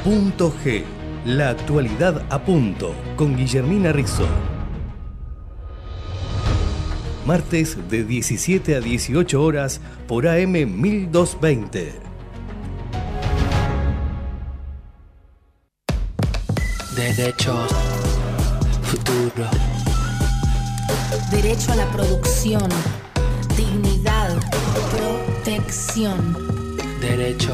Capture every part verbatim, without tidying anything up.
Punto G, la actualidad a punto, con Guillermina Rizzo. Martes de diecisiete a dieciocho horas por A M mil doscientos veinte. Derechos, futuro. Derecho a la producción, dignidad, protección. Derecho.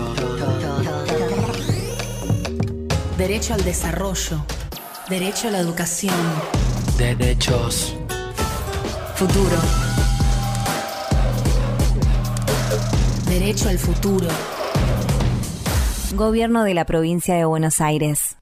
Derecho al desarrollo, derecho a la educación. Derechos. Futuro. Derecho al futuro. Gobierno de la Provincia de Buenos Aires.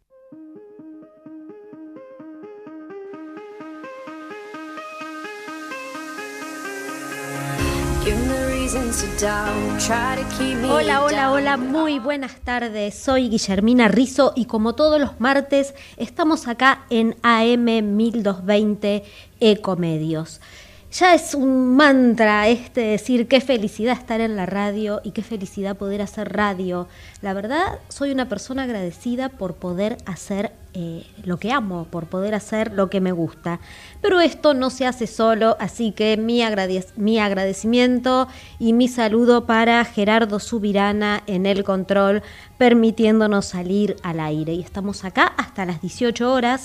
Hola, hola, hola, muy buenas tardes. Soy Guillermina Rizzo y como todos los martes estamos acá en A M mil doscientos veinte Ecomedios. Ya es un mantra este decir qué felicidad estar en la radio y qué felicidad poder hacer radio. La verdad, soy una persona agradecida por poder hacer eh, lo que amo, por poder hacer lo que me gusta. Pero esto no se hace solo, así que mi, agradec- mi agradecimiento y mi saludo para Gerardo Subirana en el control, permitiéndonos salir al aire. Y estamos acá hasta las dieciocho horas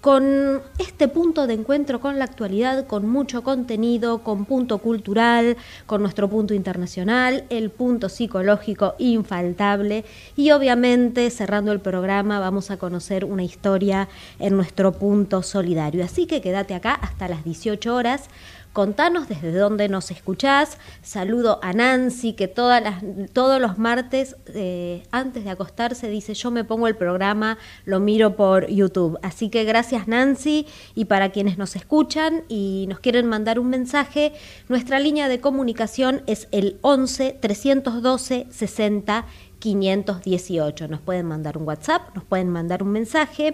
con este punto de encuentro con la actualidad, con mucho contenido, con punto cultural, con nuestro punto internacional, el punto psicológico infaltable y obviamente cerrando el programa vamos a conocer una historia en nuestro punto solidario. Así que quédate acá hasta las dieciocho horas. Contanos desde dónde nos escuchás. Saludo a Nancy, que todas las, todos los martes, eh, antes de acostarse, dice: yo me pongo el programa, lo miro por YouTube. Así que gracias, Nancy. Y para quienes nos escuchan y nos quieren mandar un mensaje, nuestra línea de comunicación es el once, trescientos doce, sesenta, quinientos dieciocho. Nos pueden mandar un WhatsApp, nos pueden mandar un mensaje.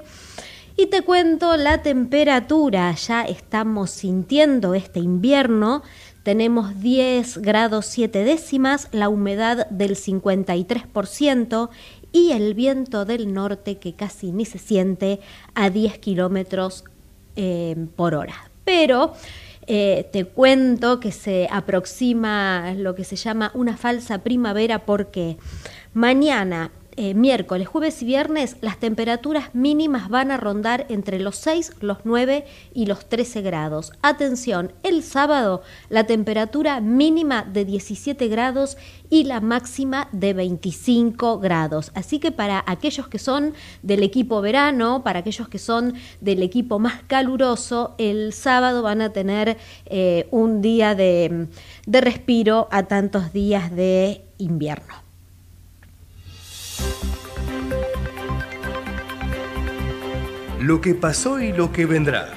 Y te cuento la temperatura, ya estamos sintiendo este invierno, tenemos diez grados siete décimas, la humedad del cincuenta y tres por ciento y el viento del norte que casi ni se siente a diez kilómetros eh, por hora. Pero eh, te cuento que se aproxima lo que se llama una falsa primavera porque mañana, Eh, miércoles, jueves y viernes, las temperaturas mínimas van a rondar entre los seis, los nueve y los trece grados. Atención, el sábado la temperatura mínima de diecisiete grados y la máxima de veinticinco grados. Así que para aquellos que son del equipo verano, para aquellos que son del equipo más caluroso, el sábado van a tener eh, un día de, de respiro a tantos días de invierno. Lo que pasó y lo que vendrá.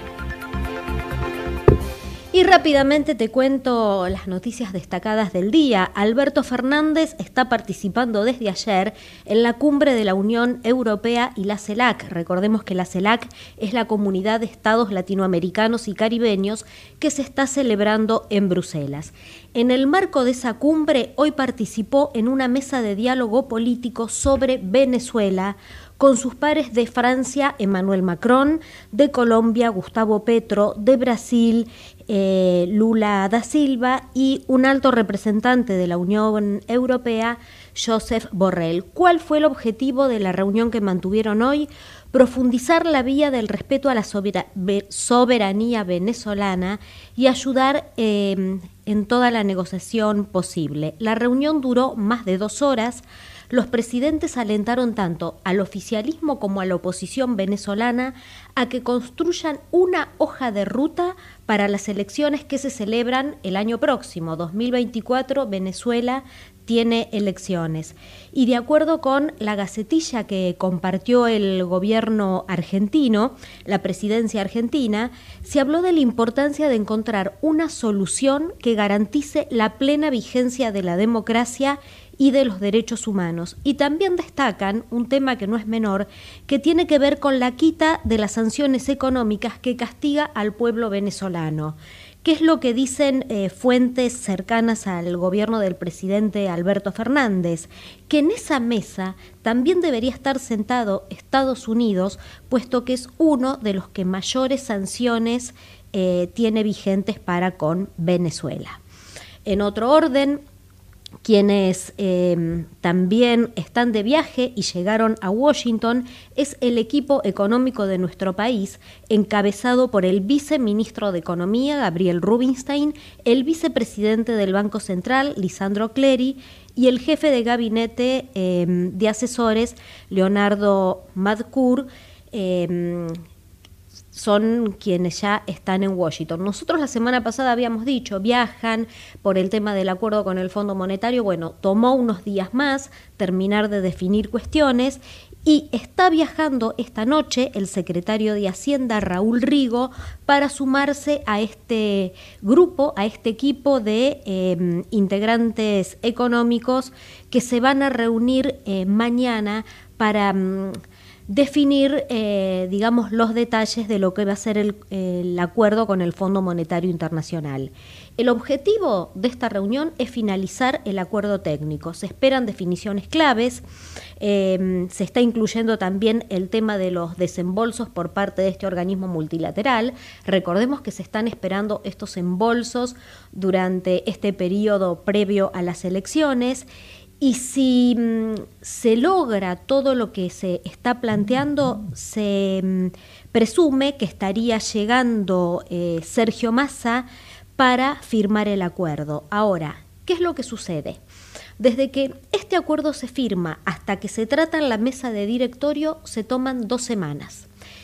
Y rápidamente te cuento las noticias destacadas del día. Alberto Fernández está participando desde ayer en la cumbre de la Unión Europea y la CELAC. Recordemos que la CELAC es la Comunidad de Estados Latinoamericanos y Caribeños que se está celebrando en Bruselas. En el marco de esa cumbre, hoy participó en una mesa de diálogo político sobre Venezuela con sus pares de Francia, Emmanuel Macron, de Colombia, Gustavo Petro, de Brasil, eh, Lula da Silva y un alto representante de la Unión Europea, Josep Borrell. ¿Cuál fue el objetivo de la reunión que mantuvieron hoy? Profundizar la vía del respeto a la soberanía venezolana y ayudar eh, en toda la negociación posible. La reunión duró más de dos horas. Los presidentes alentaron tanto al oficialismo como a la oposición venezolana a que construyan una hoja de ruta para las elecciones que se celebran el año próximo, dos mil veinticuatro. Venezuela tiene elecciones. Y de acuerdo con la gacetilla que compartió el gobierno argentino, la presidencia argentina, se habló de la importancia de encontrar una solución que garantice la plena vigencia de la democracia y de los derechos humanos. Y también destacan un tema que no es menor, que tiene que ver con la quita de las sanciones económicas que castiga al pueblo venezolano. ¿Qué es lo que dicen eh, fuentes cercanas al gobierno del presidente Alberto Fernández? Que en esa mesa también debería estar sentado Estados Unidos, puesto que es uno de los que mayores sanciones eh, tiene vigentes para con Venezuela. En otro orden, quienes eh, también están de viaje y llegaron a Washington es el equipo económico de nuestro país, encabezado por el viceministro de Economía, Gabriel Rubinstein, el vicepresidente del Banco Central, Lisandro Clery, y el jefe de gabinete eh, de asesores, Leonardo Madcour, eh, son quienes ya están en Washington. Nosotros la semana pasada habíamos dicho, viajan por el tema del acuerdo con el Fondo Monetario. Bueno, tomó unos días más terminar de definir cuestiones y está viajando esta noche el secretario de Hacienda, Raúl Rigo, para sumarse a este grupo, a este equipo de eh, integrantes económicos que se van a reunir eh, mañana para Mm, definir, eh, digamos, los detalles de lo que va a ser el, el acuerdo con el Fondo Monetario Internacional. El objetivo de esta reunión es finalizar el acuerdo técnico. Se esperan definiciones claves, eh, se está incluyendo también el tema de los desembolsos por parte de este organismo multilateral. Recordemos que se están esperando estos embolsos durante este periodo previo a las elecciones. Y si mm, se logra todo lo que se está planteando, se mm, presume que estaría llegando eh, Sergio Massa para firmar el acuerdo. Ahora, ¿qué es lo que sucede? Desde que este acuerdo se firma hasta que se trata en la mesa de directorio, se toman dos semanas.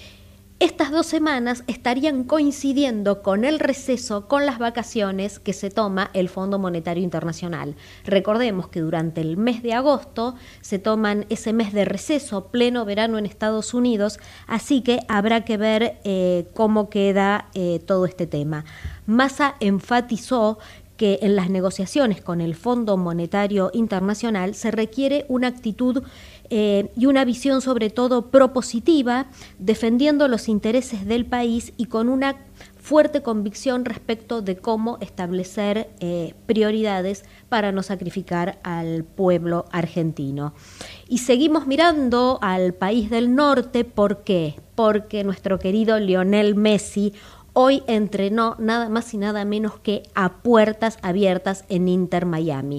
Estas dos semanas estarían coincidiendo con el receso, con las vacaciones que se toma el Fondo Monetario Internacional. Recordemos que durante el mes de agosto se toman ese mes de receso, pleno verano en Estados Unidos, así que habrá que ver eh, cómo queda eh, todo este tema. Massa enfatizó que en las negociaciones con el Fondo Monetario Internacional se requiere una actitud Eh, y una visión sobre todo propositiva, defendiendo los intereses del país y con una fuerte convicción respecto de cómo establecer eh, prioridades para no sacrificar al pueblo argentino. Y seguimos mirando al país del norte, ¿por qué? Porque nuestro querido Lionel Messi hoy entrenó nada más y nada menos que a puertas abiertas en Inter Miami.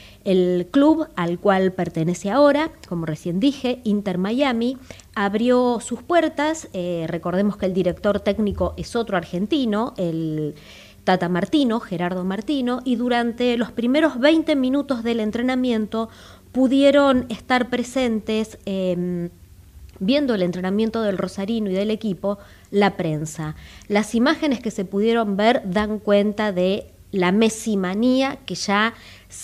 El club al cual pertenece ahora, como recién dije, Inter Miami, abrió sus puertas. Eh, recordemos que el director técnico es otro argentino, el Tata Martino, Gerardo Martino, y durante los primeros veinte minutos del entrenamiento pudieron estar presentes, eh, viendo el entrenamiento del rosarino y del equipo, la prensa. Las imágenes que se pudieron ver dan cuenta de la Messi-manía que ya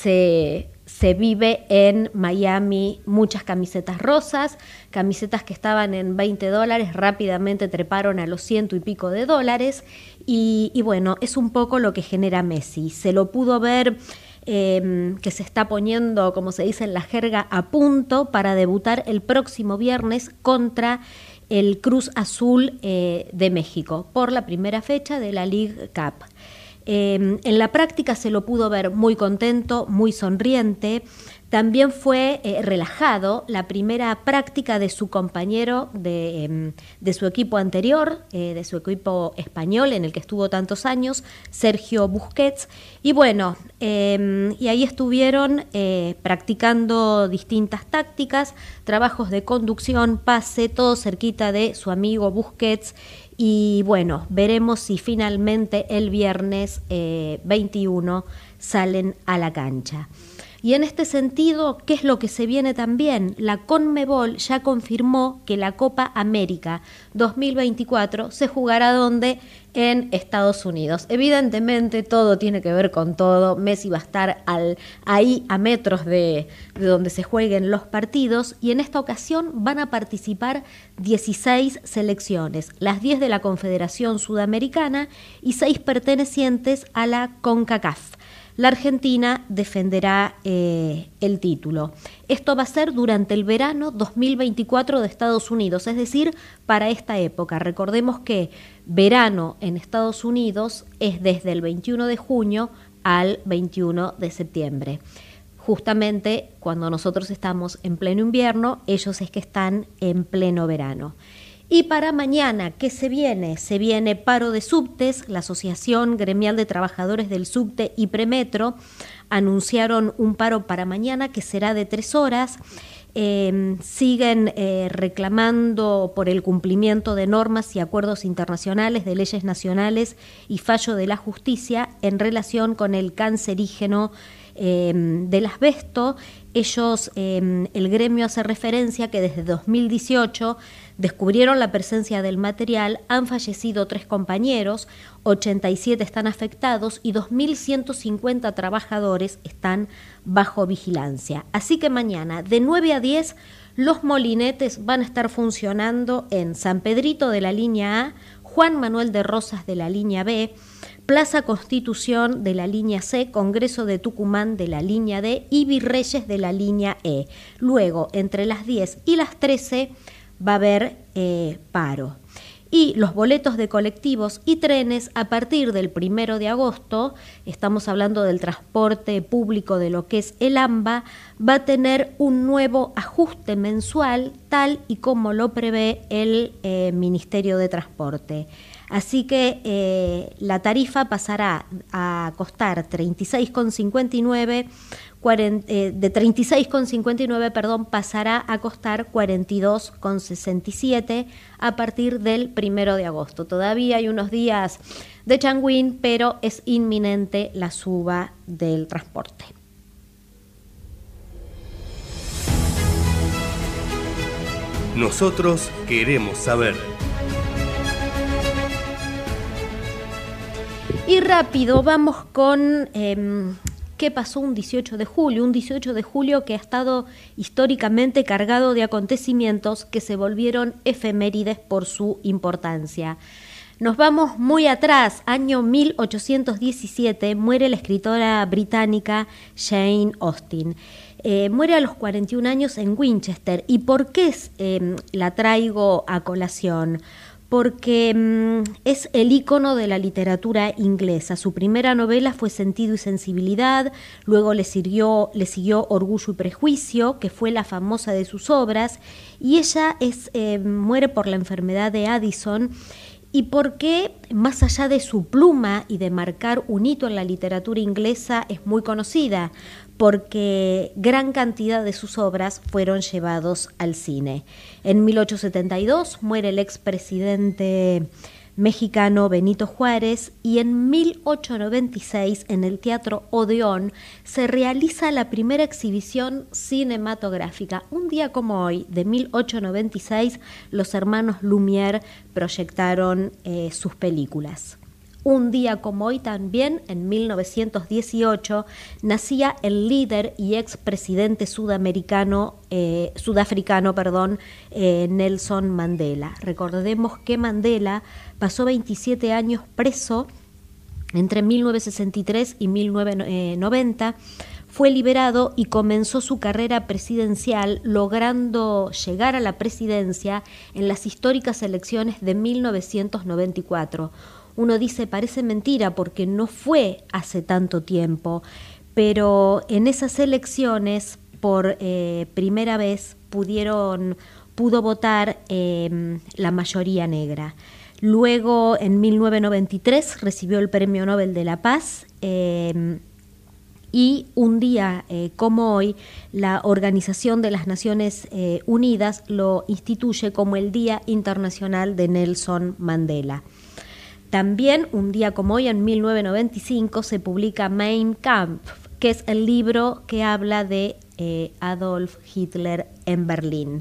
se, se vive en Miami. Muchas camisetas rosas, camisetas que estaban en veinte dólares, rápidamente treparon a los ciento y pico de dólares, y, y bueno, es un poco lo que genera Messi. Se lo pudo ver eh, que se está poniendo, como se dice en la jerga, a punto para debutar el próximo viernes contra el Cruz Azul eh, de México, por la primera fecha de la League Cup. Eh, en la práctica se lo pudo ver muy contento, muy sonriente. También fue eh, relajado. La primera práctica de su compañero de, eh, de su equipo anterior, eh, de su equipo español en el que estuvo tantos años, Sergio Busquets. Y bueno, eh, y ahí estuvieron eh, practicando distintas tácticas, trabajos de conducción, pase, todo cerquita de su amigo Busquets. Y bueno, veremos si finalmente el viernes eh, veintiuno salen a la cancha. Y en este sentido, ¿qué es lo que se viene también? La Conmebol ya confirmó que la Copa América dos mil veinticuatro se jugará ¿dónde? En Estados Unidos. Evidentemente todo tiene que ver con todo. Messi va a estar al, ahí a metros de, de donde se jueguen los partidos, y en esta ocasión van a participar dieciséis selecciones, las diez de la Confederación Sudamericana y seis pertenecientes a la CONCACAF. la Argentina defenderá eh, el título. Esto va a ser durante el verano dos mil veinticuatro de Estados Unidos, es decir, para esta época. Recordemos que verano en Estados Unidos es desde el veintiuno de junio al veintiuno de septiembre. Justamente cuando nosotros estamos en pleno invierno, ellos es que están en pleno verano. Y para mañana, ¿qué se viene? Se viene paro de subtes. La Asociación Gremial de Trabajadores del Subte y Premetro anunciaron un paro para mañana que será de tres horas. Eh, siguen eh, reclamando por el cumplimiento de normas y acuerdos internacionales, de leyes nacionales y fallo de la justicia en relación con el cancerígeno eh, del asbesto. Ellos, eh, el gremio hace referencia que desde dos mil dieciocho descubrieron la presencia del material, han fallecido tres compañeros, ochenta y siete están afectados y dos mil ciento cincuenta trabajadores están bajo vigilancia. Así que mañana de nueve a diez los molinetes van a estar funcionando en San Pedrito de la línea A, Juan Manuel de Rosas de la línea B, Plaza Constitución de la línea C, Congreso de Tucumán de la línea D y Virreyes de la línea E. Luego, entre las diez y las trece va a haber eh, paro. Y los boletos de colectivos y trenes a partir del primero de agosto, estamos hablando del transporte público de lo que es el AMBA, va a tener un nuevo ajuste mensual tal y como lo prevé el eh, Ministerio de Transporte. Así que eh, la tarifa pasará a costar treinta y seis con cincuenta y nueve, eh, de treinta y seis con cincuenta y nueve, perdón, pasará a costar cuarenta y dos con sesenta y siete a partir del primero de agosto. Todavía hay unos días de changüín, pero es inminente la suba del transporte. Nosotros queremos saber. Y rápido, vamos con eh, qué pasó un dieciocho de julio, un dieciocho de julio que ha estado históricamente cargado de acontecimientos que se volvieron efemérides por su importancia. Nos vamos muy atrás, año mil ochocientos diecisiete, muere la escritora británica Jane Austen. Eh, muere a los cuarenta y un años en Winchester. ¿Y por qué eh, la traigo a colación? Porque mmm, es el ícono de la literatura inglesa. Su primera novela fue Sentido y Sensibilidad, luego le, siguió, le siguió Orgullo y Prejuicio, que fue la famosa de sus obras, y ella es, eh, muere por la enfermedad de Addison, y porque, más allá de su pluma y de marcar un hito en la literatura inglesa, es muy conocida, porque gran cantidad de sus obras fueron llevados al cine. En mil ochocientos setenta y dos muere el expresidente mexicano Benito Juárez y en mil ochocientos noventa y seis en el Teatro Odeón se realiza la primera exhibición cinematográfica. Un día como hoy, de mil ochocientos noventa y seis, los hermanos Lumière proyectaron eh, sus películas. Un día como hoy también, en mil novecientos dieciocho, nacía el líder y expresidente sudamericano, eh, sudafricano perdón, eh, Nelson Mandela. Recordemos que Mandela pasó veintisiete años preso entre mil novecientos sesenta y tres y mil novecientos noventa. Fue liberado y comenzó su carrera presidencial, logrando llegar a la presidencia en las históricas elecciones de mil novecientos noventa y cuatro. Uno dice, parece mentira porque no fue hace tanto tiempo, pero en esas elecciones por eh, primera vez pudieron, pudo votar eh, la mayoría negra. Luego, en mil novecientos noventa y tres, recibió el Premio Nobel de la Paz eh, y un día eh, como hoy, la Organización de las Naciones eh, Unidas lo instituye como el Día Internacional de Nelson Mandela. También, un día como hoy, en mil novecientos noventa y cinco, se publica Mein Kampf, que es el libro que habla de eh, Adolf Hitler en Berlín.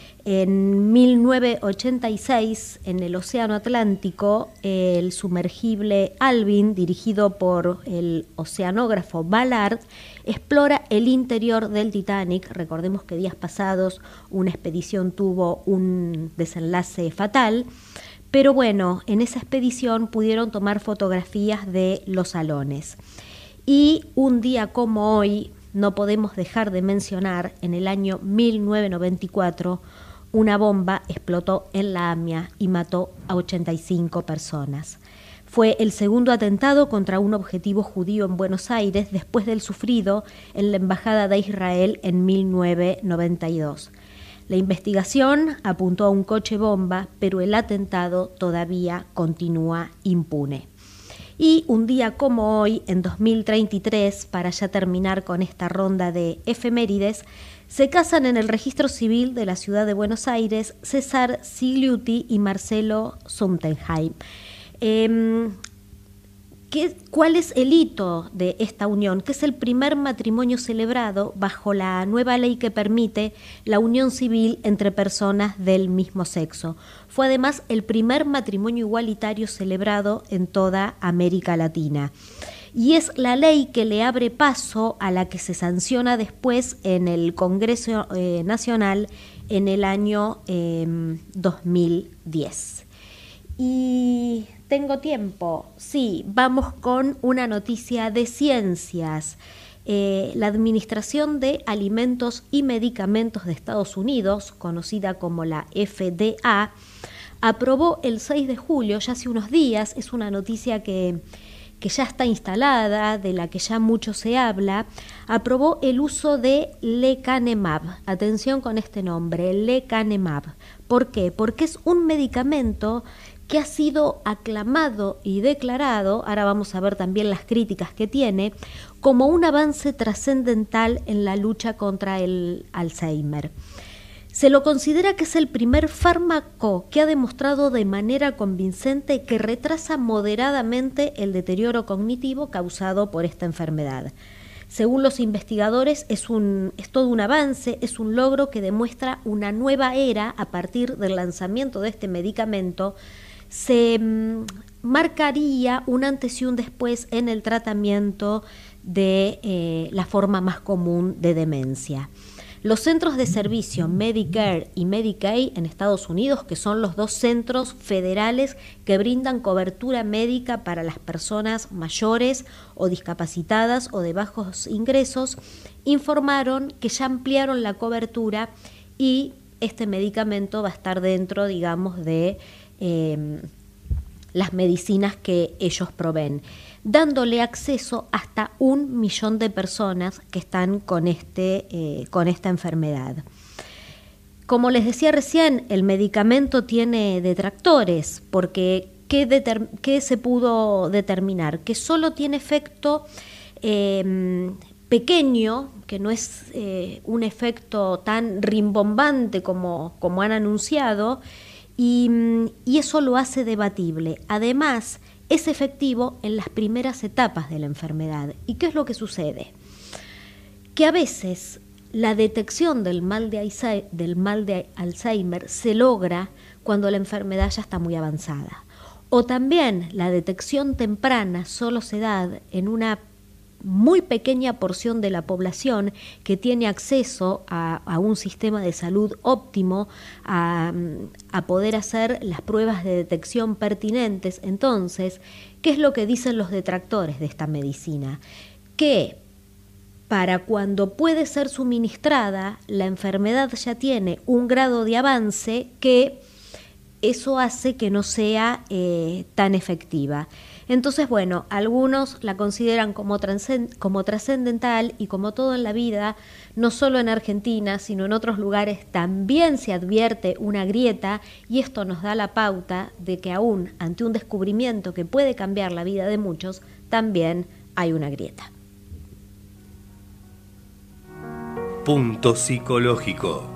En mil novecientos ochenta y seis, en el Océano Atlántico, el sumergible Alvin, dirigido por el oceanógrafo Ballard, explora el interior del Titanic. Recordemos que días pasados una expedición tuvo un desenlace fatal. Pero bueno, en esa expedición pudieron tomar fotografías de los salones. Y un día como hoy, no podemos dejar de mencionar, en el año mil novecientos noventa y cuatro, una bomba explotó en la AMIA y mató a ochenta y cinco personas. Fue el segundo atentado contra un objetivo judío en Buenos Aires después del sufrido en la Embajada de Israel en mil novecientos noventa y dos. La investigación apuntó a un coche bomba, pero el atentado todavía continúa impune. Y un día como hoy, en dos mil treinta y tres, para ya terminar con esta ronda de efemérides, se casan en el registro civil de la ciudad de Buenos Aires César Cigliuti y Marcelo Sumtenheim. Eh, ¿qué, ¿Cuál es el hito de esta unión? Que es el primer matrimonio celebrado bajo la nueva ley que permite la unión civil entre personas del mismo sexo. Fue además el primer matrimonio igualitario celebrado en toda América Latina. Y es la ley que le abre paso a la que se sanciona después en el Congreso eh, Nacional en el año eh, dos mil diez. Y tengo tiempo, sí, vamos con una noticia de ciencias. Eh, la Administración de Alimentos y Medicamentos de Estados Unidos, conocida como la F D A, aprobó el seis de julio, ya hace unos días, es una noticia que... que ya está instalada, de la que ya mucho se habla, aprobó el uso de lecanemab. Atención con este nombre, lecanemab. ¿Por qué? Porque es un medicamento que ha sido aclamado y declarado, ahora vamos a ver también las críticas que tiene, como un avance trascendental en la lucha contra el Alzheimer. Se lo considera que es el primer fármaco que ha demostrado de manera convincente que retrasa moderadamente el deterioro cognitivo causado por esta enfermedad. Según los investigadores, es, un, es todo un avance, es un logro que demuestra una nueva era a partir del lanzamiento de este medicamento. Se mmm, marcaría un antes y un después en el tratamiento de eh, la forma más común de demencia. Los centros de servicio Medicare y Medicaid en Estados Unidos, que son los dos centros federales que brindan cobertura médica para las personas mayores o discapacitadas o de bajos ingresos, informaron que ya ampliaron la cobertura y este medicamento va a estar dentro, digamos, de eh, las medicinas que ellos proveen, dándole acceso hasta un millón de personas que están con, este, eh, con esta enfermedad. Como les decía recién, el medicamento tiene detractores, porque ¿qué, deter- qué se pudo determinar? Que solo tiene efecto eh, pequeño, que no es eh, un efecto tan rimbombante como, como han anunciado, y, y eso lo hace debatible. Además, es efectivo en las primeras etapas de la enfermedad. ¿Y qué es lo que sucede? Que a veces la detección del mal de Alzheimer, del mal de Alzheimer se logra cuando la enfermedad ya está muy avanzada. O también la detección temprana solo se da en una muy pequeña porción de la población que tiene acceso a, a un sistema de salud óptimo, a, a poder hacer las pruebas de detección pertinentes. Entonces, ¿qué es lo que dicen los detractores de esta medicina? Que para cuando puede ser suministrada, la enfermedad ya tiene un grado de avance que eso hace que no sea eh, tan efectiva. Entonces, bueno, algunos la consideran como, trascend- como trascendental y como todo en la vida, no solo en Argentina, sino en otros lugares también se advierte una grieta y esto nos da la pauta de que aún ante un descubrimiento que puede cambiar la vida de muchos, también hay una grieta. Punto psicológico.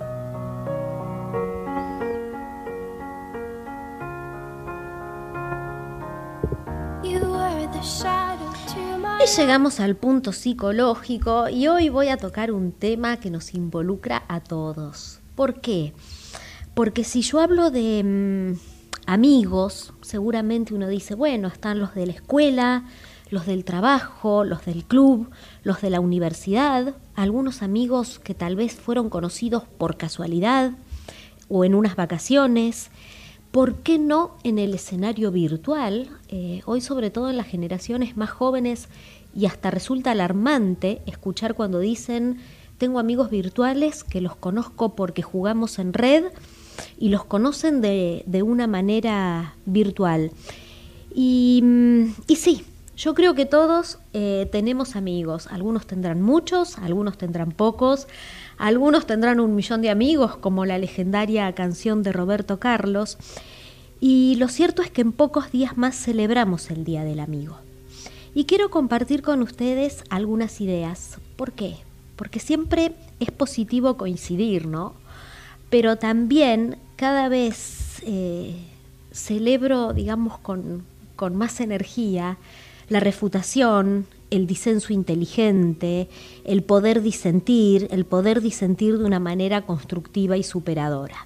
Y llegamos al punto psicológico y hoy voy a tocar un tema que nos involucra a todos. ¿Por qué? Porque si yo hablo de mmm, amigos, seguramente uno dice, bueno, están los de la escuela, los del trabajo, los del club, los de la universidad, algunos amigos que tal vez fueron conocidos por casualidad o en unas vacaciones. ¿Por qué no en el escenario virtual? Eh, hoy, sobre todo en las generaciones más jóvenes, y hasta resulta alarmante escuchar cuando dicen: tengo amigos virtuales que los conozco porque jugamos en red y los conocen de, de una manera virtual. Y, y sí, yo creo que todos eh, tenemos amigos. Algunos tendrán muchos, algunos tendrán pocos, algunos tendrán un millón de amigos, como la legendaria canción de Roberto Carlos. Y lo cierto es que en pocos días más celebramos el Día del Amigo. Y quiero compartir con ustedes algunas ideas. ¿Por qué? Porque siempre es positivo coincidir, ¿no? Pero también cada vez eh, celebro, digamos, con, con más energía la refutación, el disenso inteligente, el poder disentir, el poder disentir de una manera constructiva y superadora.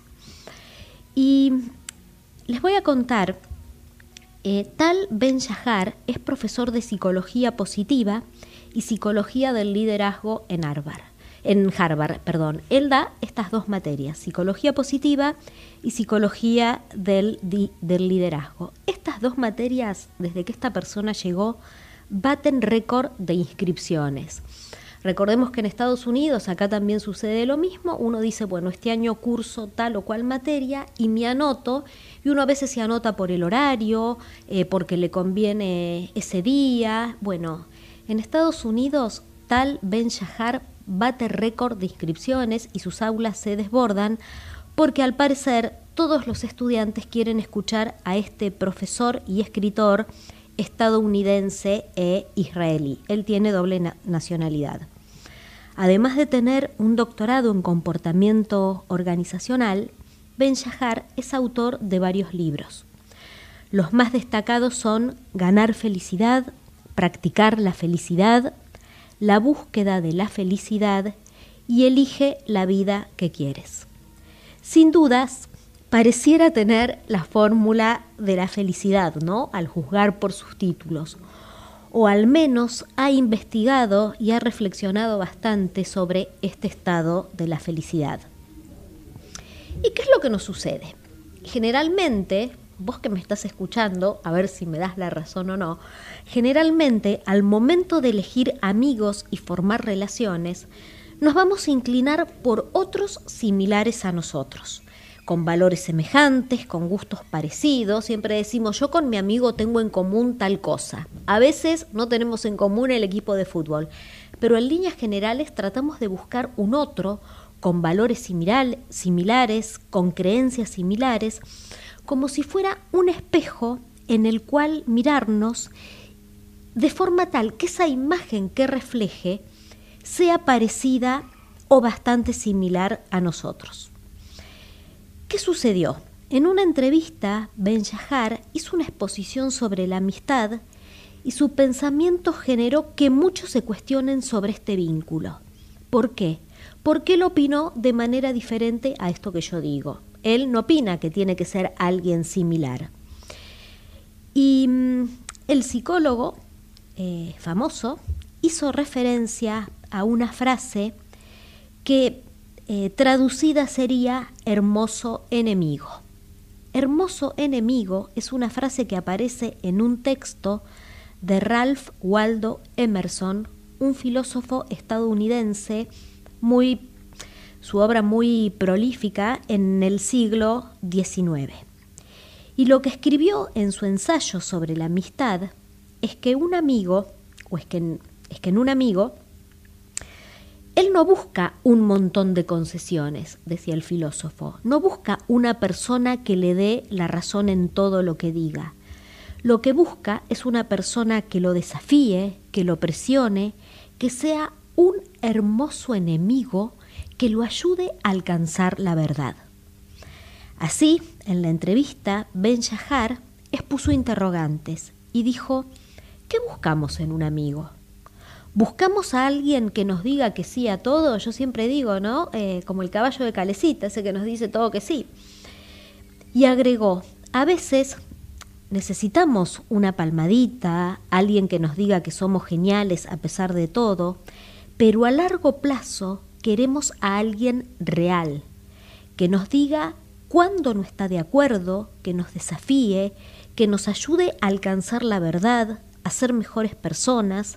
Y les voy a contar, eh, Tal Ben-Shahar es profesor de psicología positiva y psicología del liderazgo en Harvard. En Harvard, perdón. Él da estas dos materias, psicología positiva y psicología del, di, del liderazgo. Estas dos materias, desde que esta persona llegó, baten récord de inscripciones. Recordemos que en Estados Unidos, acá también sucede lo mismo. Uno dice, bueno, este año curso tal o cual materia y me anoto, y uno a veces se anota por el horario, eh, porque le conviene ese día. Bueno, en Estados Unidos, Tal Ben-Shahar bate récord de inscripciones y sus aulas se desbordan porque al parecer todos los estudiantes quieren escuchar a este profesor y escritor estadounidense e israelí. Él tiene doble na- nacionalidad. Además de tener un doctorado en comportamiento organizacional, Ben-Shahar es autor de varios libros. Los más destacados son Ganar felicidad, Practicar la felicidad, La búsqueda de la felicidad y Elige la vida que quieres. Sin dudas, pareciera tener la fórmula de la felicidad, ¿no?, al juzgar por sus títulos. O al menos ha investigado y ha reflexionado bastante sobre este estado de la felicidad. ¿Y qué es lo que nos sucede? Generalmente, vos que me estás escuchando, a ver si me das la razón o no, generalmente al momento de elegir amigos y formar relaciones, nos vamos a inclinar por otros similares a nosotros, con valores semejantes, con gustos parecidos. Siempre decimos, yo con mi amigo tengo en común tal cosa. A veces no tenemos en común el equipo de fútbol, pero en líneas generales tratamos de buscar un otro con valores similar, similares, con creencias similares, como si fuera un espejo en el cual mirarnos de forma tal que esa imagen que refleje sea parecida o bastante similar a nosotros. ¿Qué sucedió? En una entrevista, Ben-Shahar hizo una exposición sobre la amistad y su pensamiento generó que muchos se cuestionen sobre este vínculo. ¿Por qué? Porque él opinó de manera diferente a esto que yo digo. Él no opina que tiene que ser alguien similar. Y mmm, el psicólogo eh, famoso hizo referencia a una frase que eh, traducida sería hermoso enemigo. Hermoso enemigo es una frase que aparece en un texto de Ralph Waldo Emerson, un filósofo estadounidense muy su obra muy prolífica en el siglo diecinueve. Y lo que escribió en su ensayo sobre la amistad es que un amigo, o es que en, es que en un amigo, él no busca un montón de concesiones, decía el filósofo, no busca una persona que le dé la razón en todo lo que diga. Lo que busca es una persona que lo desafíe, que lo presione, que sea un hermoso enemigo que lo ayude a alcanzar la verdad. Así, en la entrevista, Ben-Shahar expuso interrogantes y dijo, ¿qué buscamos en un amigo? ¿Buscamos a alguien que nos diga que sí a todo? Yo siempre digo, ¿no? Eh, como el caballo de Calecita, ese que nos dice todo que sí. Y agregó, a veces necesitamos una palmadita, alguien que nos diga que somos geniales a pesar de todo, pero a largo plazo queremos a alguien real, que nos diga cuándo no está de acuerdo, que nos desafíe, que nos ayude a alcanzar la verdad, a ser mejores personas,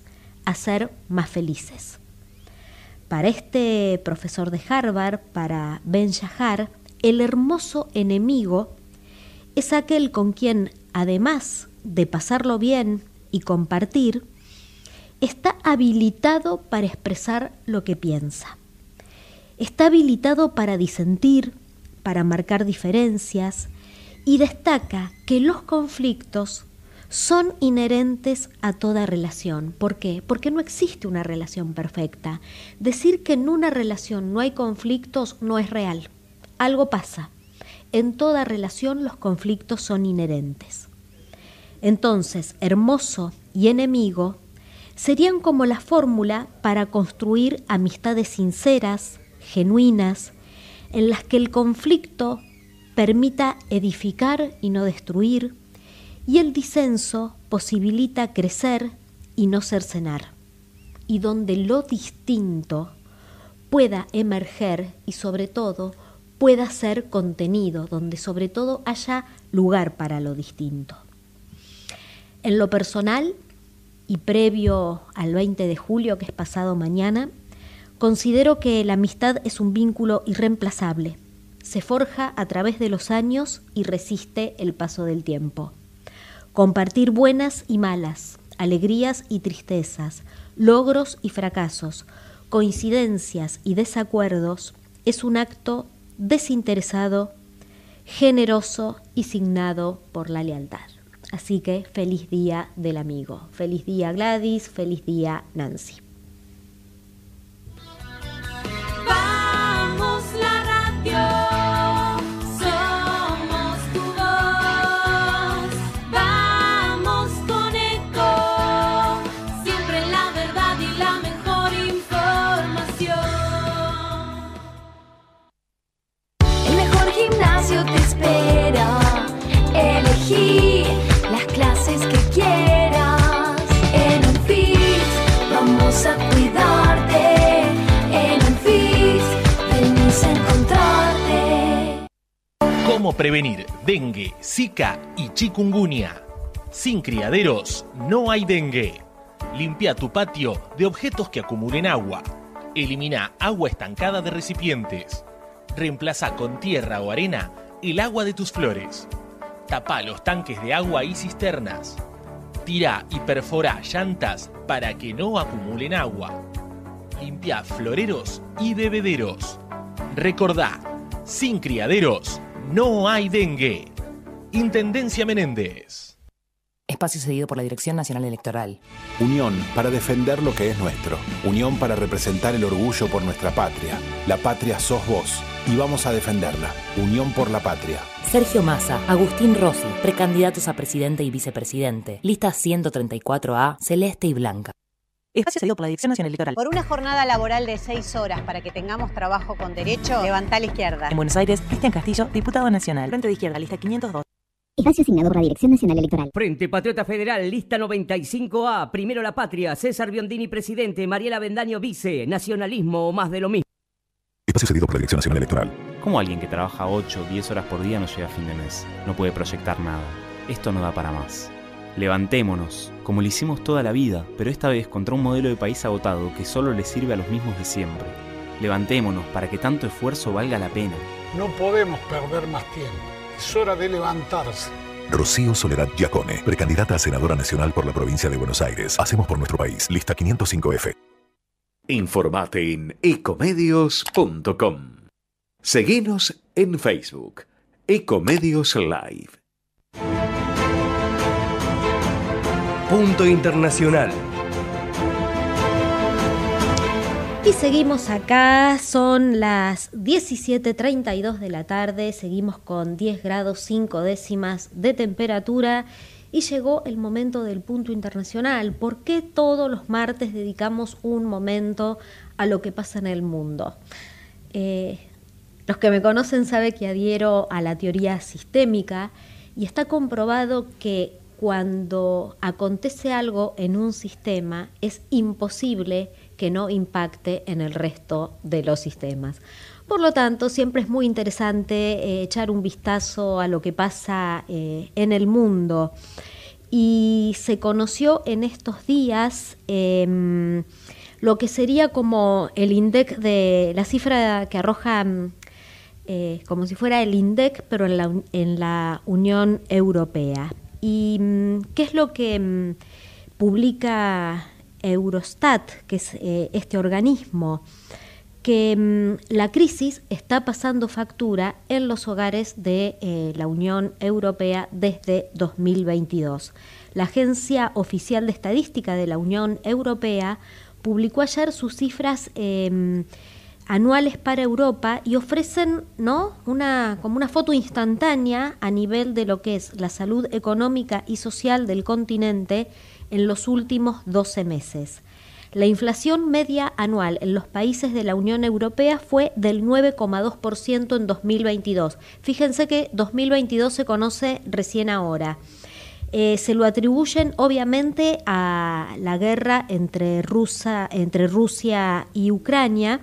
a ser más felices. Para este profesor de Harvard, para Ben Shahar, el hermoso enemigo es aquel con quien, además de pasarlo bien y compartir, está habilitado para expresar lo que piensa. Está habilitado para disentir, para marcar diferencias, y destaca que los conflictos son inherentes a toda relación. ¿Por qué? Porque no existe una relación perfecta. Decir que en una relación no hay conflictos no es real. Algo pasa. En toda relación los conflictos son inherentes. Entonces, hermoso y enemigo serían como la fórmula para construir amistades sinceras, genuinas, en las que el conflicto permita edificar y no destruir, y el disenso posibilita crecer y no cercenar, y donde lo distinto pueda emerger y sobre todo pueda ser contenido, donde sobre todo haya lugar para lo distinto. En lo personal, y previo al veinte de julio, que es pasado mañana, considero que la amistad es un vínculo irreemplazable. Se forja a través de los años y resiste el paso del tiempo. Compartir buenas y malas, alegrías y tristezas, logros y fracasos, coincidencias y desacuerdos es un acto desinteresado, generoso y signado por la lealtad. Así que feliz día del amigo. Feliz día Gladys, feliz día Nancy. Vamos la radio, somos tu voz. Vamos con Eco, siempre la verdad y la mejor información. El mejor gimnasio te espera. Elegí las clases que quieras. En Unfit vamos a cuidarte. En Unfit venís a encontrarte. ¿Cómo prevenir dengue, zika y chikungunya? Sin criaderos no hay dengue. Limpia tu patio de objetos que acumulen agua. Elimina agua estancada de recipientes. Reemplaza con tierra o arena el agua de tus flores. Tapa los tanques de agua y cisternas. Tira y perfora llantas para que no acumulen agua. Limpia floreros y bebederos. Recordá, sin criaderos no hay dengue. Intendencia Menéndez. Espacio cedido por la Dirección Nacional Electoral. Unión para defender lo que es nuestro. Unión para representar el orgullo por nuestra patria. La patria sos vos y vamos a defenderla. Unión por la patria. Sergio Massa, Agustín Rossi, precandidatos a presidente y vicepresidente. Lista ciento treinta y cuatro A, celeste y blanca. Espacio cedido por la Dirección Nacional Electoral. Por una jornada laboral de seis horas para que tengamos trabajo con derecho, levantá la izquierda. En Buenos Aires, Cristian Castillo, diputado nacional. Frente de Izquierda, lista quinientos dos. Espacio asignado por la Dirección Nacional Electoral. Frente Patriota Federal, lista noventa y cinco A, Primero la Patria, César Biondini presidente, Mariela Bendaño vice, nacionalismo o más de lo mismo. Espacio cedido por la Dirección Nacional Electoral. ¿Cómo alguien que trabaja ocho o diez horas por día no llega a fin de mes? No puede proyectar nada. Esto no da para más. Levantémonos, como lo hicimos toda la vida, pero esta vez contra un modelo de país agotado que solo le sirve a los mismos de siempre. Levantémonos para que tanto esfuerzo valga la pena. No podemos perder más tiempo. Es hora de levantarse. Rocío Soledad Giacone, precandidata a senadora nacional por la provincia de Buenos Aires. Hacemos por nuestro país. Lista quinientos cinco F. Informate en ecomedios punto com. Seguinos en Facebook. Ecomedios Live. Punto Internacional. Y seguimos acá, son las diecisiete treinta y dos de la tarde, seguimos con diez grados cinco décimas de temperatura y llegó el momento del punto internacional. ¿Por qué todos los martes dedicamos un momento a lo que pasa en el mundo? Eh, los que me conocen saben que adhiero a la teoría sistémica y está comprobado que cuando acontece algo en un sistema es imposible que no impacte en el resto de los sistemas. Por lo tanto, siempre es muy interesante eh, echar un vistazo a lo que pasa eh, en el mundo. y se conoció en estos días eh, lo que sería como el INDEC de la cifra que arroja eh, como si fuera el INDEC, pero en la, en la Unión Europea. ¿Y qué es lo que publica Eurostat, que es eh, este organismo? Que mmm, la crisis está pasando factura en los hogares de eh, la Unión Europea desde dos mil veintidós. La Agencia Oficial de Estadística de la Unión Europea publicó ayer sus cifras eh, anuales para Europa y ofrecen, ¿no?, una, como una foto instantánea a nivel de lo que es la salud económica y social del continente en los últimos doce meses. La inflación media anual en los países de la Unión Europea fue del nueve coma dos por ciento en dos mil veintidós. Fíjense que dos mil veintidós se conoce recién ahora. Eh, se lo atribuyen obviamente a la guerra entre, Rusa, entre Rusia y Ucrania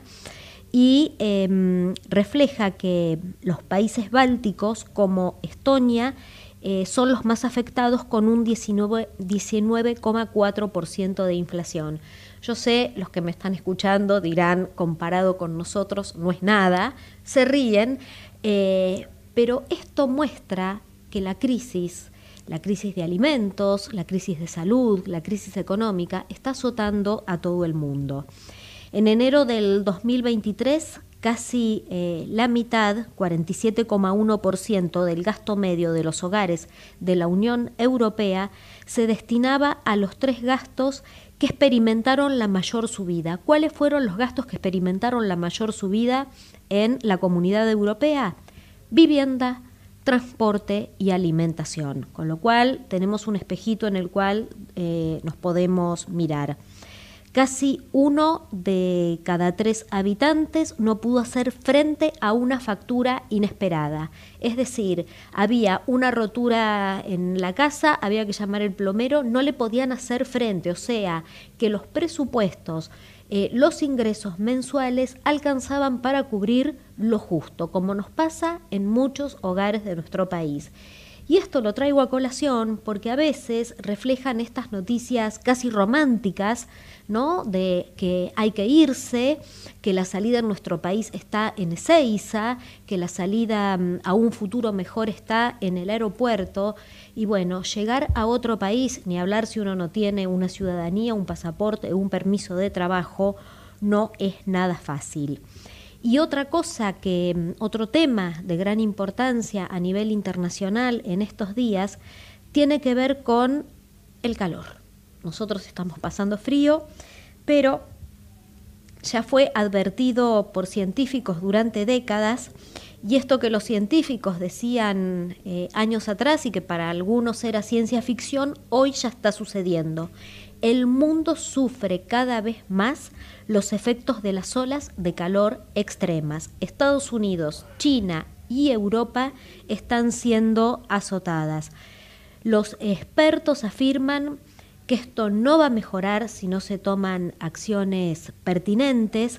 y eh, refleja que los países bálticos como Estonia Eh, son los más afectados con un diecinueve coma cuatro por ciento de inflación. Yo sé, los que me están escuchando dirán, comparado con nosotros no es nada, se ríen, eh, pero esto muestra que la crisis, la crisis de alimentos, la crisis de salud, la crisis económica, está azotando a todo el mundo. En enero del dos mil veintitrés, casi eh, la mitad, cuarenta y siete coma uno por ciento del gasto medio de los hogares de la Unión Europea se destinaba a los tres gastos que experimentaron la mayor subida. ¿Cuáles fueron los gastos que experimentaron la mayor subida en la Comunidad Europea? Vivienda, transporte y alimentación, con lo cual tenemos un espejito en el cual eh, nos podemos mirar. Casi uno de cada tres habitantes no pudo hacer frente a una factura inesperada. Es decir, había una rotura en la casa, había que llamar al plomero, no le podían hacer frente. O sea, que los presupuestos, eh, los ingresos mensuales alcanzaban para cubrir lo justo, como nos pasa en muchos hogares de nuestro país. Y esto lo traigo a colación porque a veces reflejan estas noticias casi románticas, ¿no?, de que hay que irse, que la salida en nuestro país está en Ezeiza, que la salida a un futuro mejor está en el aeropuerto. Y bueno, llegar a otro país, ni hablar si uno no tiene una ciudadanía, un pasaporte, un permiso de trabajo, no es nada fácil. Y otra cosa que, otro tema de gran importancia a nivel internacional en estos días, tiene que ver con el calor. Nosotros estamos pasando frío, pero ya fue advertido por científicos durante décadas, y esto que los científicos decían eh, años atrás y que para algunos era ciencia ficción, hoy ya está sucediendo. El mundo sufre cada vez más los efectos de las olas de calor extremas. Estados Unidos, China y Europa están siendo azotadas. Los expertos afirman que esto no va a mejorar si no se toman acciones pertinentes.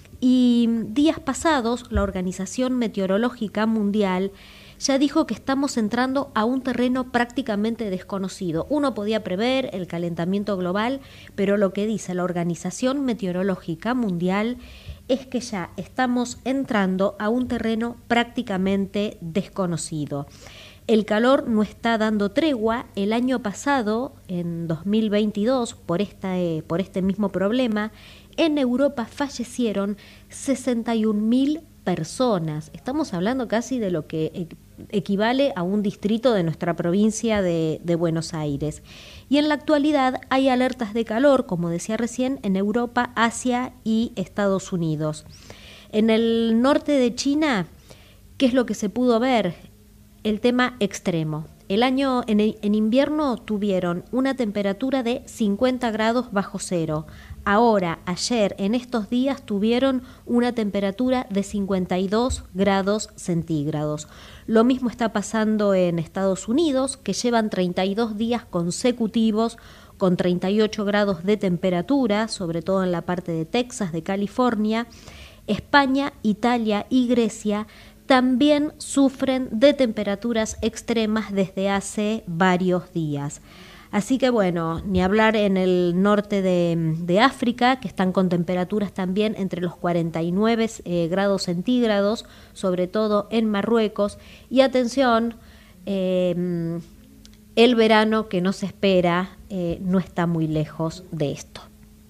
Y días pasados, la Organización Meteorológica Mundial ya dijo que estamos entrando a un terreno prácticamente desconocido. Uno podía prever el calentamiento global, pero lo que dice la Organización Meteorológica Mundial es que ya estamos entrando a un terreno prácticamente desconocido. El calor no está dando tregua. El año pasado, en dos mil veintidós, por, esta, eh, por este mismo problema, en Europa fallecieron sesenta y un mil personas. Estamos hablando casi de lo que equivale a un distrito de nuestra provincia de, de Buenos Aires. Y en la actualidad hay alertas de calor, como decía recién, en Europa, Asia y Estados Unidos. En el norte de China, ¿qué es lo que se pudo ver? El tema extremo. El año en, en invierno tuvieron una temperatura de cincuenta grados bajo cero. Ahora, ayer, en estos días, tuvieron una temperatura de cincuenta y dos grados centígrados. Lo mismo está pasando en Estados Unidos, que llevan treinta y dos días consecutivos con treinta y ocho grados de temperatura, sobre todo en la parte de Texas, de California. España, Italia y Grecia también sufren de temperaturas extremas desde hace varios días. Así que bueno, ni hablar en el norte de, de África, que están con temperaturas también entre los cuarenta y nueve eh, grados centígrados, sobre todo en Marruecos. Y atención, eh, el verano que nos espera eh, no está muy lejos de esto.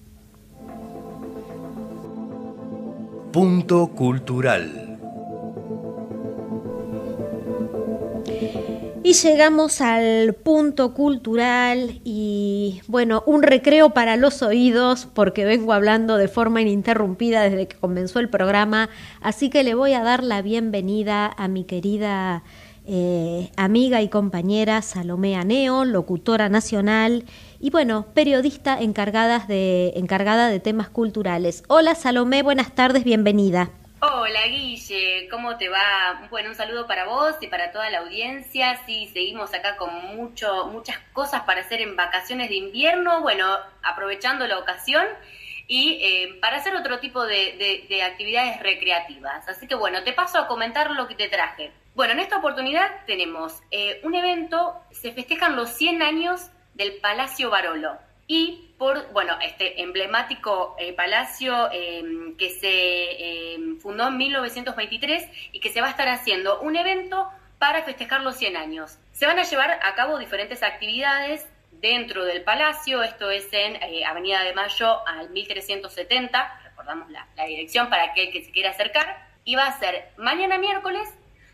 Punto cultural. Y llegamos al punto cultural y, bueno, un recreo para los oídos porque vengo hablando de forma ininterrumpida desde que comenzó el programa, así que le voy a dar la bienvenida a mi querida eh, amiga y compañera Salomé Aneo, locutora nacional y, bueno, periodista encargada de, encargada de temas culturales. Hola Salomé, buenas tardes, bienvenida. Hola Guille, ¿cómo te va? Bueno, un saludo para vos y para toda la audiencia. Sí, seguimos acá con mucho, muchas cosas para hacer en vacaciones de invierno, bueno, aprovechando la ocasión y eh, para hacer otro tipo de, de, de actividades recreativas. Así que bueno, te paso a comentar lo que te traje. Bueno, en esta oportunidad tenemos eh, un evento, se festejan los cien años del Palacio Barolo. Y por, bueno, este emblemático eh, palacio eh, que se eh, fundó en mil novecientos veintitrés y que se va a estar haciendo un evento para festejar los cien años. Se van a llevar a cabo diferentes actividades dentro del palacio, esto es en eh, Avenida de Mayo al mil trescientos setenta, recordamos la, la dirección para aquel que se quiera acercar, y va a ser mañana miércoles,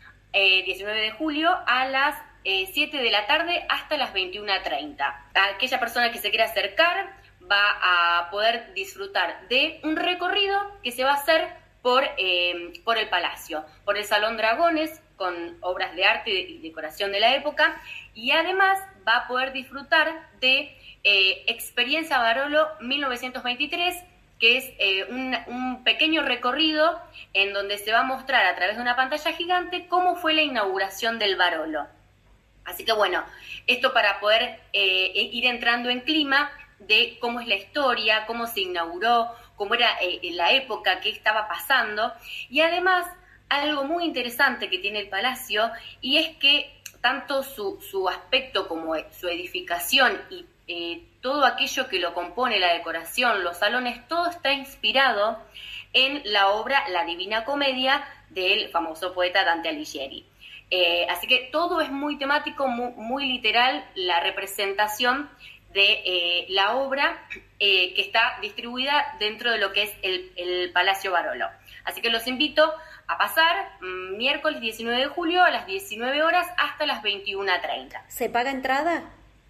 eh, diecinueve de julio, a las siete de la tarde hasta las veintiuna treinta. Aquella persona que se quiera acercar va a poder disfrutar de un recorrido que se va a hacer por, eh, por el palacio, por el Salón Dragones, con obras de arte y decoración de la época, y además va a poder disfrutar de eh, Experiencia Barolo mil novecientos veintitrés, que es eh, un, un pequeño recorrido en donde se va a mostrar a través de una pantalla gigante cómo fue la inauguración del Barolo. Así que bueno, esto para poder eh, ir entrando en clima de cómo es la historia, cómo se inauguró, cómo era eh, la época, qué estaba pasando. Y además, algo muy interesante que tiene el palacio, y es que tanto su, su aspecto como su edificación y eh, todo aquello que lo compone, la decoración, los salones, todo está inspirado en la obra La Divina Comedia del famoso poeta Dante Alighieri. Eh, así que todo es muy temático, muy, muy literal, la representación de eh, la obra eh, que está distribuida dentro de lo que es el, el Palacio Barolo. Así que los invito a pasar mmm, miércoles diecinueve de julio a las diecinueve horas hasta las veintiuna treinta. ¿Se paga entrada?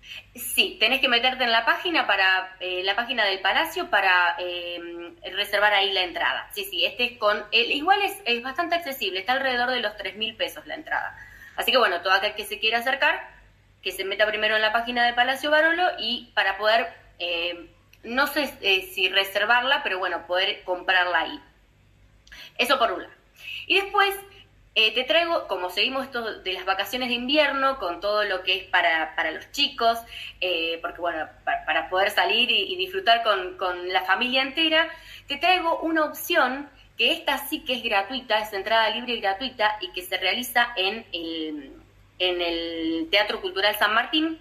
Sí, tenés que meterte en la página para eh, la página del Palacio para eh, reservar ahí la entrada. Sí, sí, este es con el, igual es, es bastante accesible, está alrededor de los tres mil pesos la entrada. Así que bueno, todo aquel que se quiera acercar, que se meta primero en la página del Palacio Barolo y para poder, eh, no sé eh, si reservarla, pero bueno, poder comprarla ahí. Eso por un lado. Y después Eh, te traigo, como seguimos esto de las vacaciones de invierno, con todo lo que es para, para los chicos, eh, porque bueno, para, para poder salir y, y disfrutar con, con la familia entera, te traigo una opción que esta sí que es gratuita, es entrada libre y gratuita, y que se realiza en el, en el Teatro Cultural San Martín.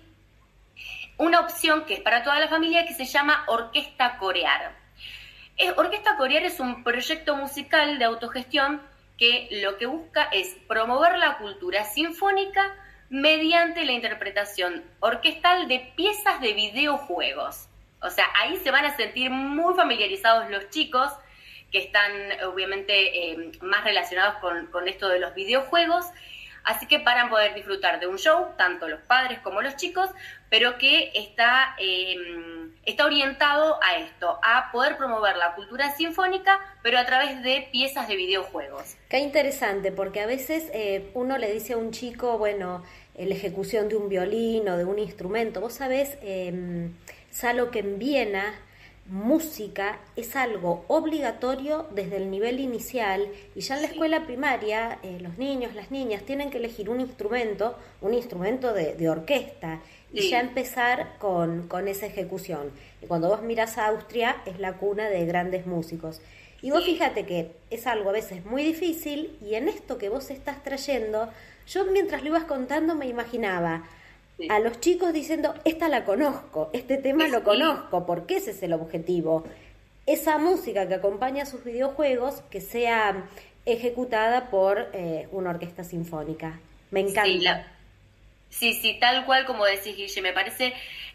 Una opción que es para toda la familia que se llama Orquesta Corear. Eh, Orquesta Corear es un proyecto musical de autogestión que lo que busca es promover la cultura sinfónica mediante la interpretación orquestal de piezas de videojuegos. O sea, ahí se van a sentir muy familiarizados los chicos que están obviamente eh, más relacionados con, con esto de los videojuegos. Así que para poder disfrutar de un show, tanto los padres como los chicos, pero que está, eh, está orientado a esto, a poder promover la cultura sinfónica, pero a través de piezas de videojuegos. Qué interesante, porque a veces eh, uno le dice a un chico, bueno, la ejecución de un violín o de un instrumento. Vos sabés, eh, Salo, que en Viena música es algo obligatorio desde el nivel inicial, y ya en la escuela primaria eh, los niños, las niñas tienen que elegir un instrumento, un instrumento de, de orquesta, y sí. ya empezar con, con esa ejecución. Y cuando vos mirás a Austria, es la cuna de grandes músicos. Y vos fíjate que es algo a veces muy difícil, y en esto que vos estás trayendo, yo mientras lo ibas contando me imaginaba sí. a los chicos diciendo, esta la conozco, este tema sí. lo conozco, porque ese es el objetivo. Esa música que acompaña a sus videojuegos, que sea ejecutada por eh, una orquesta sinfónica. Me encanta. Sí, la... sí, sí, tal cual como decís, Guille, me parece,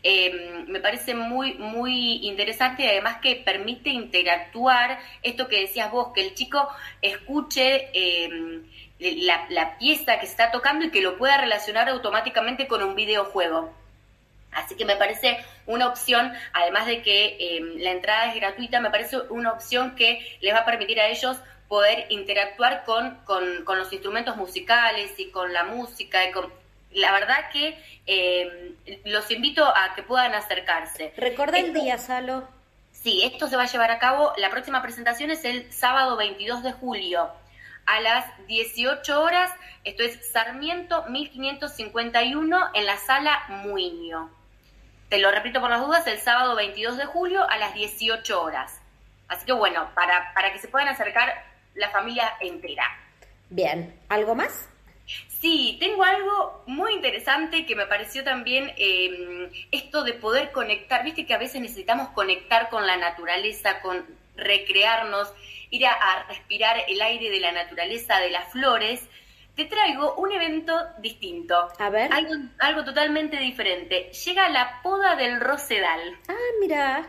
eh, me parece muy, muy interesante, y además que permite interactuar, esto que decías vos, que el chico escuche eh, la, la pieza que se está tocando y que lo pueda relacionar automáticamente con un videojuego. Así que me parece una opción, además de que eh, la entrada es gratuita, me parece una opción que les va a permitir a ellos poder interactuar con, con, con los instrumentos musicales y con la música. Y con, la verdad que eh, los invito a que puedan acercarse. ¿Recuerda el día, Salo? Sí, esto se va a llevar a cabo, la próxima presentación es el sábado veintidós de julio. A las dieciocho horas, esto es Sarmiento mil quinientos cincuenta y uno en la sala Muiño. Te lo repito por las dudas, el sábado veintidós de julio a las dieciocho horas. Así que bueno, para, para que se puedan acercar la familia entera. Bien, ¿algo más? Sí, tengo algo muy interesante que me pareció también eh, esto de poder conectar. Viste que a veces necesitamos conectar con la naturaleza, con recrearnos, ir a, a respirar el aire de la naturaleza, de las flores. Te traigo un evento distinto. A ver. Algo, algo totalmente diferente. Llega la poda del rosedal. Ah, mira.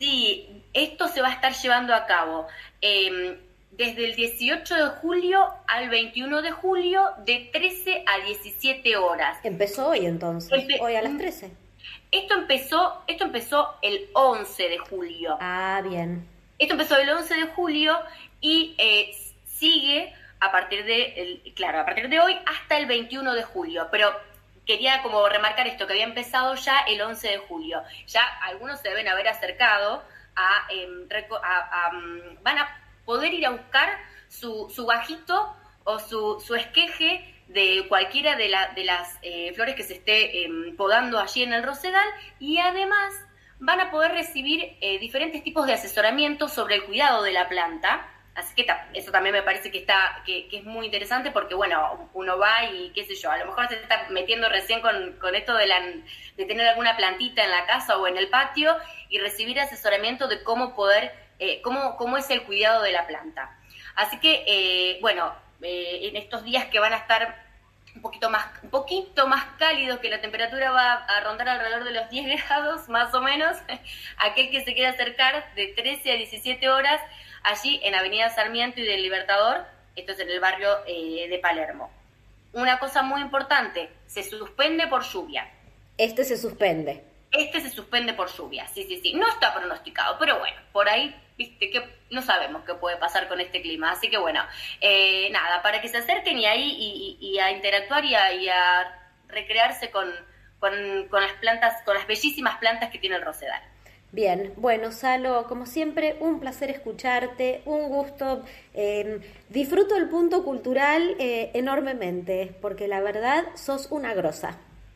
Sí, esto se va a estar llevando a cabo eh, desde el dieciocho de julio al veintiuno de julio, de trece a diecisiete horas. Empezó hoy entonces, Empe- hoy a las trece. Esto empezó, esto empezó el once de julio. Ah, bien. Esto empezó el once de julio y eh, sigue a partir de, el, claro, a partir de hoy hasta el veintiuno de julio, pero quería como remarcar esto, que había empezado ya el once de julio. Ya algunos se deben haber acercado a, eh, a, a van a poder ir a buscar su, su bajito o su, su esqueje de cualquiera de, la, de las eh, flores que se esté eh, podando allí en el rosedal, y además van a poder recibir eh, diferentes tipos de asesoramiento sobre el cuidado de la planta. Así que ta, eso también me parece que está que, que es muy interesante, porque bueno, uno va y qué sé yo, a lo mejor se está metiendo recién con, con esto de, la, de tener alguna plantita en la casa o en el patio y recibir asesoramiento de cómo poder, eh, cómo, cómo es el cuidado de la planta. Así que, eh, bueno, eh, en estos días que van a estar un poquito más un poquito más cálidos, que la temperatura va a rondar alrededor de los diez grados más o menos, aquel que se quiera acercar de trece a diecisiete horas, allí en Avenida Sarmiento y del Libertador, esto es en el barrio eh, de Palermo. Una cosa muy importante, se suspende por lluvia. Este se suspende. Este se suspende por lluvia, sí, sí, sí. No está pronosticado, pero bueno, por ahí, viste, que no sabemos qué puede pasar con este clima. Así que bueno, eh, nada, para que se acerquen y ahí y, y, y a interactuar y a, y a recrearse con, con, con las plantas, con las bellísimas plantas que tiene el rosedal. Bien, bueno, Salo, como siempre, un placer escucharte, un gusto. Eh, disfruto el punto cultural eh, enormemente, porque la verdad sos una grosa.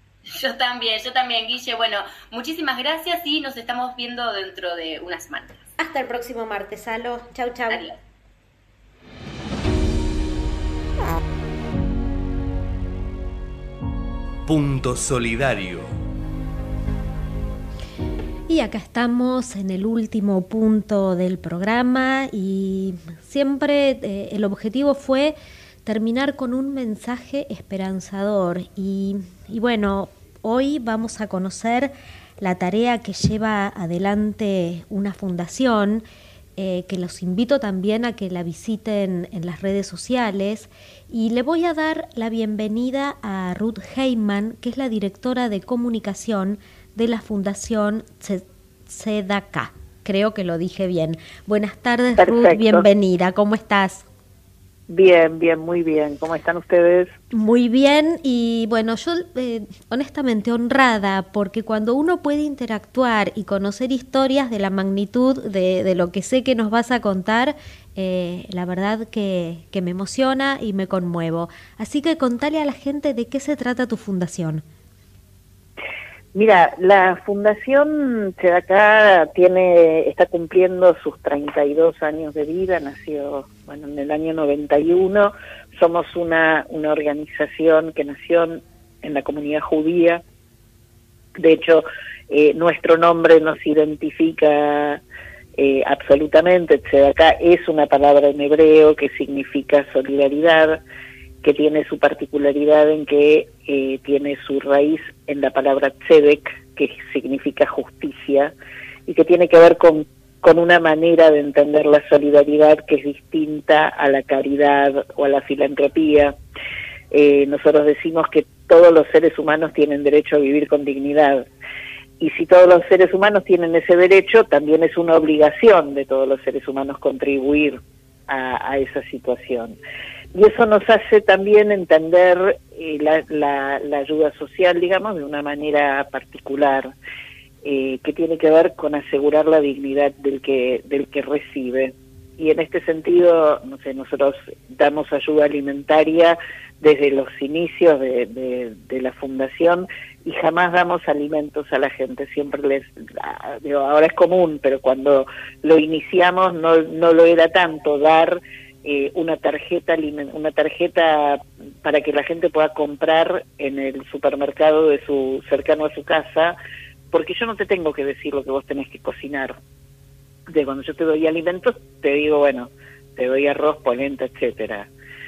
Yo también, yo también, Guille. Bueno, muchísimas gracias y nos estamos viendo dentro de unas semanas. Hasta el próximo martes, Salo. Chau, chau. Adiós. Punto Solidario. Y acá estamos en el último punto del programa y siempre eh, el objetivo fue terminar con un mensaje esperanzador y, y bueno, hoy vamos a conocer la tarea que lleva adelante una fundación eh, que los invito también a que la visiten en las redes sociales, y le voy a dar la bienvenida a Ruth Heyman, que es la directora de comunicación de la Fundación Tzedakah. Creo que lo dije bien. Buenas tardes, Perfecto. Ruth, bienvenida. ¿Cómo estás? Bien, bien, muy bien. ¿Cómo están ustedes? Muy bien, y bueno, yo eh, honestamente honrada, porque cuando uno puede interactuar y conocer historias de la magnitud de, de lo que sé que nos vas a contar, eh, la verdad que, que me emociona y me conmuevo. Así que contale a la gente de qué se trata tu fundación. Mira, la Fundación Tzedakah tiene, está cumpliendo sus treinta y dos años de vida, nació bueno, en el año noventa y uno, somos una, una organización que nació en, en la comunidad judía, de hecho eh, nuestro nombre nos identifica eh, absolutamente. Tzedakah es una palabra en hebreo que significa solidaridad, que tiene su particularidad en que eh, tiene su raíz en la palabra tzedek, que significa justicia, y que tiene que ver con, con una manera de entender la solidaridad que es distinta a la caridad o a la filantropía. Eh, nosotros decimos que todos los seres humanos tienen derecho a vivir con dignidad, y si todos los seres humanos tienen ese derecho, también es una obligación de todos los seres humanos contribuir a, a esa situación. Y eso nos hace también entender eh, la, la, la ayuda social, digamos, de una manera particular, eh, que tiene que ver con asegurar la dignidad del que, del que recibe. Y en este sentido, no sé, nosotros damos ayuda alimentaria desde los inicios de, de, de la fundación, y jamás damos alimentos a la gente, siempre les, digo, ahora es común, pero cuando lo iniciamos no, no lo era tanto, dar Eh, una tarjeta una tarjeta para que la gente pueda comprar en el supermercado de su cercano a su casa, porque yo no te tengo que decir lo que vos tenés que cocinar. De cuando yo te doy alimentos, te digo, bueno, te doy arroz, polenta, etcétera.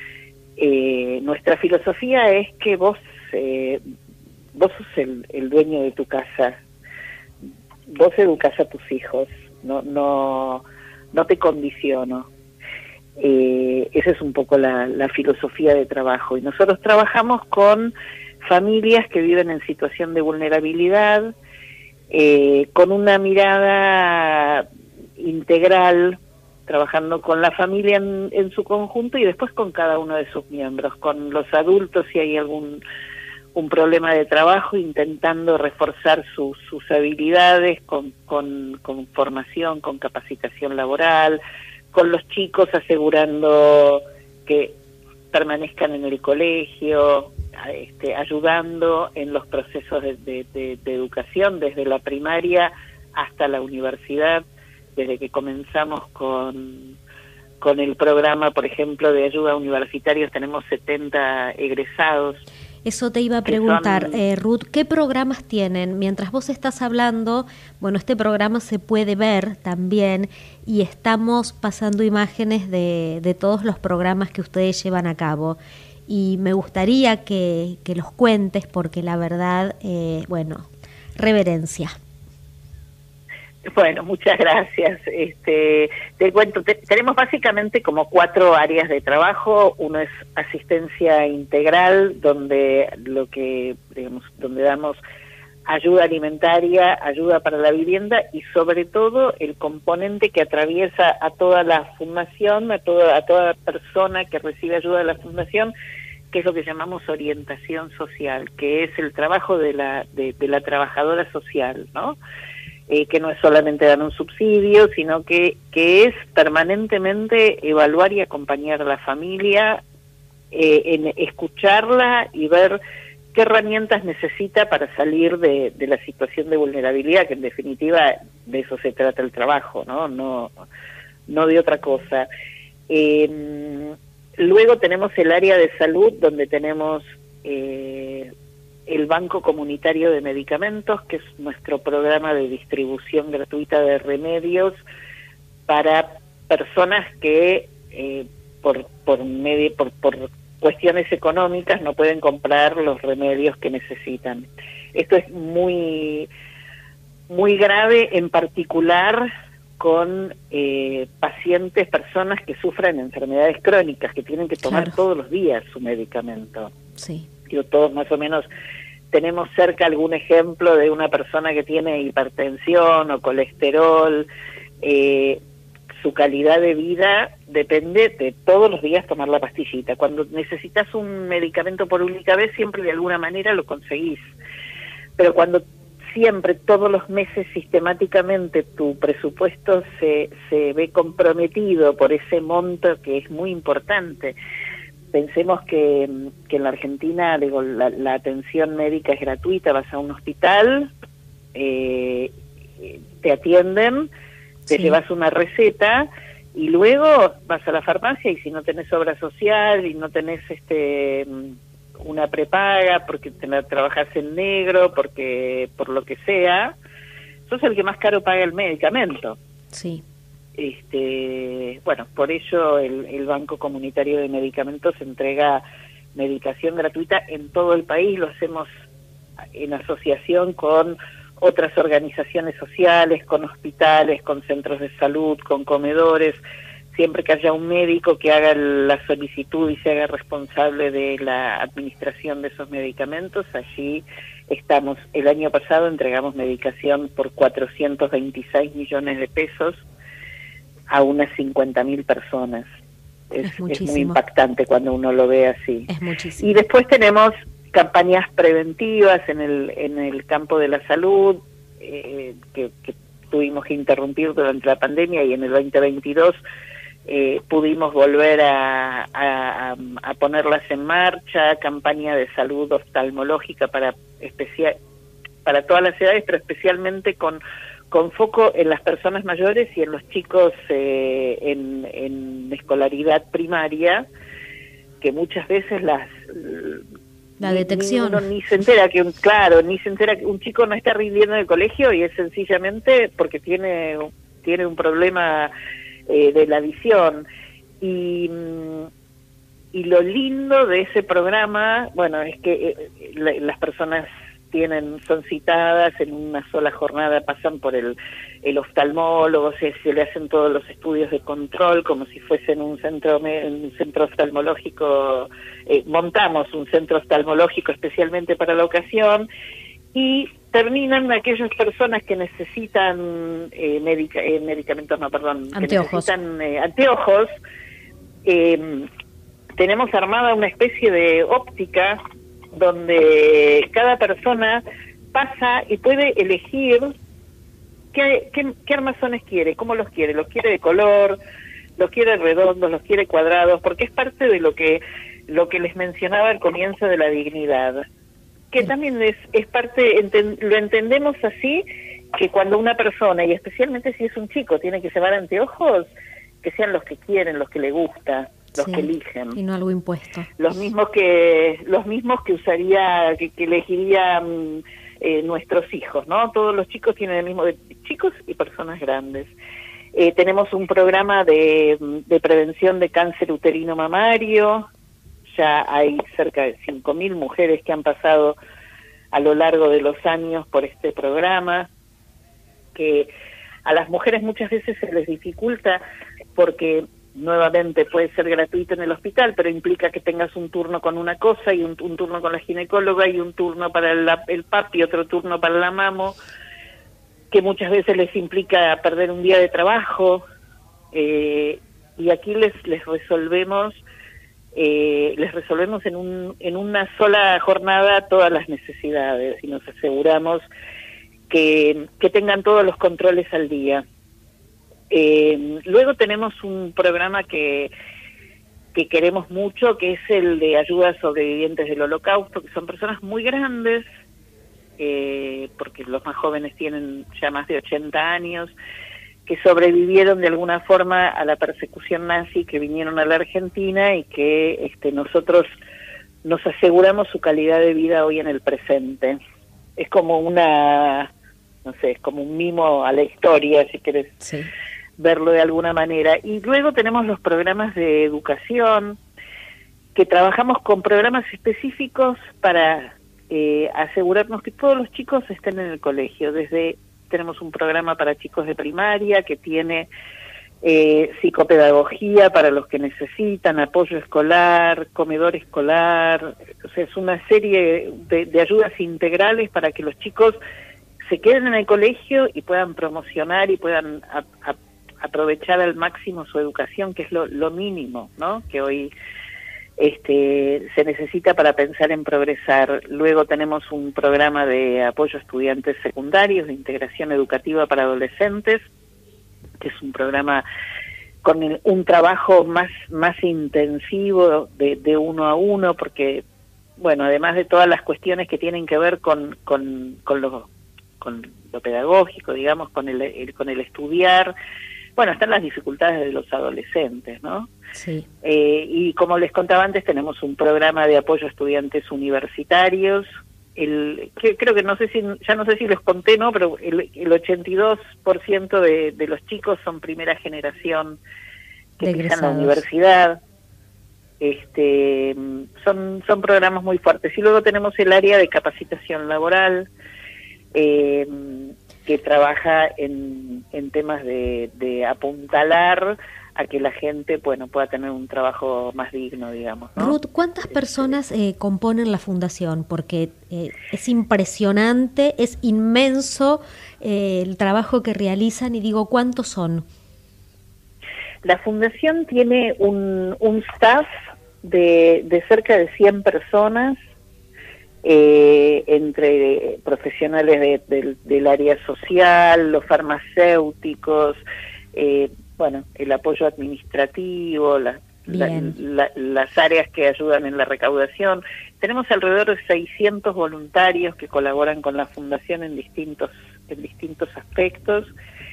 Eh, nuestra filosofía es que vos eh, vos sos el, el dueño de tu casa, vos educás a tus hijos, no no no te condiciono. Eh, esa es un poco la, la filosofía de trabajo, y nosotros trabajamos con familias que viven en situación de vulnerabilidad, eh, con una mirada integral, trabajando con la familia en, en su conjunto y después con cada uno de sus miembros, con los adultos si hay algún un problema de trabajo, intentando reforzar sus, sus habilidades con, con, con formación, con capacitación laboral, con los chicos asegurando que permanezcan en el colegio, este, ayudando en los procesos de, de, de, de educación, desde la primaria hasta la universidad, desde que comenzamos con, con el programa, por ejemplo, de ayuda a universitarios, tenemos setenta egresados. Eso te iba a preguntar, son... eh, Ruth, ¿qué programas tienen? Mientras vos estás hablando, bueno, este programa se puede ver también y estamos pasando imágenes de, de todos los programas que ustedes llevan a cabo. Y me gustaría que, que los cuentes porque la verdad, eh, bueno, reverencia. Bueno, muchas gracias. Este, te cuento, te, tenemos básicamente como cuatro áreas de trabajo. Uno es asistencia integral, donde lo que digamos, donde damos ayuda alimentaria, ayuda para la vivienda y sobre todo el componente que atraviesa a toda la fundación, a toda a toda persona que recibe ayuda de la fundación, que es lo que llamamos orientación social, que es el trabajo de la de, de la trabajadora social, ¿no? Eh, que no es solamente dar un subsidio, sino que, que es permanentemente evaluar y acompañar a la familia, eh, en escucharla y ver qué herramientas necesita para salir de, de la situación de vulnerabilidad, que en definitiva de eso se trata el trabajo, ¿no? No, no de otra cosa. Eh, luego tenemos el área de salud, donde tenemos eh, el Banco Comunitario de Medicamentos, que es nuestro programa de distribución gratuita de remedios para personas que eh, por por, medio, por por cuestiones económicas no pueden comprar los remedios que necesitan. Esto es muy muy grave, en particular con eh, pacientes, personas que sufren enfermedades crónicas, que tienen que tomar claro. todos los días su medicamento. Sí. Yo todos más o menos tenemos cerca algún ejemplo de una persona que tiene hipertensión o colesterol. Eh, su calidad de vida depende de todos los días tomar la pastillita. Cuando necesitas un medicamento por única vez, siempre de alguna manera lo conseguís. Pero cuando siempre, todos los meses, sistemáticamente, tu presupuesto se, se ve comprometido por ese monto que es muy importante, pensemos que, que en la Argentina, digo, la, la atención médica es gratuita, vas a un hospital, eh, te atienden, te sí. llevas una receta y luego vas a la farmacia, y si no tenés obra social y no tenés este una prepaga porque te la trabajás en negro, porque por lo que sea, sos el que más caro paga el medicamento. Sí. Este, bueno, por ello el, el Banco Comunitario de Medicamentos entrega medicación gratuita en todo el país. Lo hacemos en asociación con otras organizaciones sociales, con hospitales, con centros de salud, con comedores. Siempre que haya un médico que haga la solicitud y se haga responsable de la administración de esos medicamentos, allí estamos. El año pasado entregamos medicación por cuatrocientos veintiséis millones de pesos a unas cincuenta mil personas. Es, es, es muy impactante cuando uno lo ve así. Es muchísimo. Y después tenemos campañas preventivas en el en el campo de la salud, eh, que, que tuvimos que interrumpir durante la pandemia, y en el veinte veintidós eh, pudimos volver a, a, a ponerlas en marcha. Campaña de salud oftalmológica para especial para todas las edades, pero especialmente con con foco en las personas mayores y en los chicos eh, en, en escolaridad primaria, que muchas veces las la detección ni, uno ni se entera que un claro ni se entera que un chico no está rindiendo en el colegio, y es sencillamente porque tiene tiene un problema eh, de la visión. Y y lo lindo de ese programa, bueno, es que eh, la, las personas tienen son citadas en una sola jornada, pasan por el, el oftalmólogo, se, se le hacen todos los estudios de control como si fuesen un centro un centro oftalmológico. Eh, montamos un centro oftalmológico especialmente para la ocasión, y terminan aquellas personas que necesitan eh, medica, eh, medicamentos, no, perdón, anteojos. que necesitan eh, anteojos. Eh, tenemos armada una especie de óptica donde cada persona pasa y puede elegir qué, qué, qué armazones quiere, cómo los quiere, los quiere de color, los quiere redondos, los quiere cuadrados, porque es parte de lo que lo que les mencionaba al comienzo de la dignidad, que también es, es parte, enten, lo entendemos así, que cuando una persona, y especialmente si es un chico, tiene que llevar anteojos, que sean los que quieren, los que le gusta, los sí, que eligen, y no algo impuesto, los mismos que los mismos que usaría que, que elegirían eh, nuestros hijos, ¿no? Todos los chicos tienen el mismo, de chicos y personas grandes. Eh, tenemos un programa de, de prevención de cáncer uterino mamario. Ya hay cerca de cinco mil mujeres que han pasado a lo largo de los años por este programa, que a las mujeres muchas veces se les dificulta porque nuevamente puede ser gratuito en el hospital, pero implica que tengas un turno con una cosa y un, un turno con la ginecóloga y un turno para el, el papi, otro turno para la mamo, que muchas veces les implica perder un día de trabajo, eh, y aquí les les resolvemos eh, les resolvemos en un en una sola jornada todas las necesidades, y nos aseguramos que, que tengan todos los controles al día. Eh, luego tenemos un programa que, que queremos mucho, que es el de ayuda a sobrevivientes del Holocausto, que son personas muy grandes, eh, porque los más jóvenes tienen ya más de ochenta años, que sobrevivieron de alguna forma a la persecución nazi, que vinieron a la Argentina, y que este, nosotros nos aseguramos su calidad de vida hoy en el presente. Es como una, no sé, es como un mimo a la historia, si querés. Sí. Verlo de alguna manera. Y luego tenemos los programas de educación, que trabajamos con programas específicos para eh, asegurarnos que todos los chicos estén en el colegio. Desde tenemos un programa para chicos de primaria que tiene eh, psicopedagogía para los que necesitan, apoyo escolar, comedor escolar, o sea, es una serie de, de ayudas integrales para que los chicos se queden en el colegio y puedan promocionar y puedan a, a, aprovechar al máximo su educación, que es lo, lo mínimo, ¿no? Que hoy este, se necesita para pensar en progresar. Luego tenemos un programa de apoyo a estudiantes secundarios, de integración educativa para adolescentes, que es un programa con el, un trabajo más, más intensivo de, de uno a uno, porque, bueno, además de todas las cuestiones que tienen que ver con, con, con, lo, con lo pedagógico, digamos, con el, el, con el estudiar, bueno, están las dificultades de los adolescentes, ¿no? Sí. Eh, y como les contaba antes, tenemos un programa de apoyo a estudiantes universitarios. El, que, creo que no sé si, ya no sé si los conté, ¿no? Pero el, el ochenta y dos por ciento de, de los chicos son primera generación que pisan la universidad. Este, son, son programas muy fuertes. Y luego tenemos el área de capacitación laboral, eh, que trabaja en, en temas de, de apuntalar a que la gente, bueno, pueda tener un trabajo más digno, digamos, ¿no? Ruth, ¿cuántas personas eh, componen la fundación? Porque eh, es impresionante, es inmenso eh, el trabajo que realizan, y digo, ¿cuántos son? La fundación tiene un, un staff de, de cerca de cien personas, eh, entre profesionales de, de, del área social, los farmacéuticos, eh, bueno, el apoyo administrativo, la, la, la, las áreas que ayudan en la recaudación. Tenemos alrededor de seiscientos voluntarios que colaboran con la fundación en distintos, en distintos aspectos,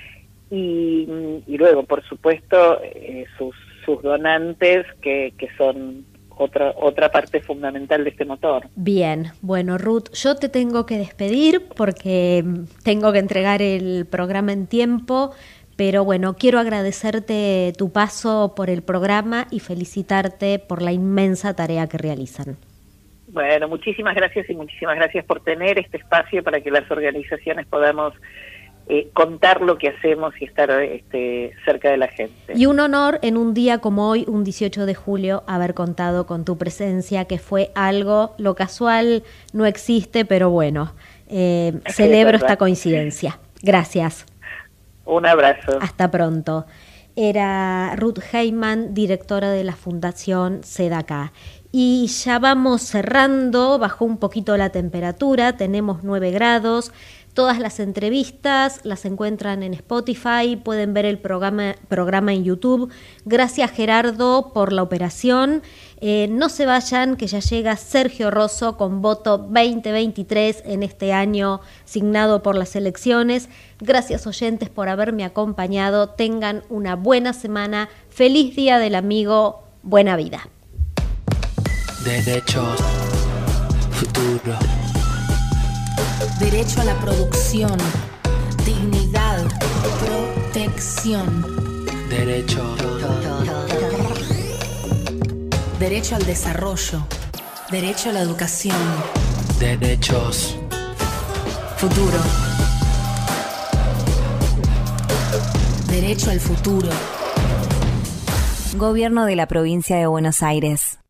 y, y luego, por supuesto, eh, sus, sus donantes, que, que son otra, otra parte fundamental de este motor. Bien, bueno, Ruth, yo te tengo que despedir porque tengo que entregar el programa en tiempo. Pero bueno, quiero agradecerte tu paso por el programa y felicitarte por la inmensa tarea que realizan. Bueno, muchísimas gracias y muchísimas gracias por tener este espacio para que las organizaciones podamos eh, contar lo que hacemos y estar este, cerca de la gente. Y un honor en un día como hoy, un dieciocho de julio, haber contado con tu presencia, que fue algo, lo casual no existe, pero bueno, eh, celebro esta coincidencia. Gracias. Un abrazo. Hasta pronto. Era Ruth Heyman, directora de la Fundación SEDACA. Y ya vamos cerrando, bajó un poquito la temperatura, tenemos nueve grados. Todas las entrevistas las encuentran en Spotify, pueden ver el programa, programa en YouTube. Gracias, Gerardo, por la operación. Eh, no se vayan, que ya llega Sergio Rosso con voto veinte veintitrés en este año signado por las elecciones. Gracias, oyentes, por haberme acompañado. Tengan una buena semana. Feliz Día del Amigo. Buena vida. Derechos, futuro. Derecho a la producción, dignidad, protección. Derecho. Derecho al desarrollo, derecho a la educación. Derechos. Futuro. Derecho al futuro. Gobierno de la Provincia de Buenos Aires.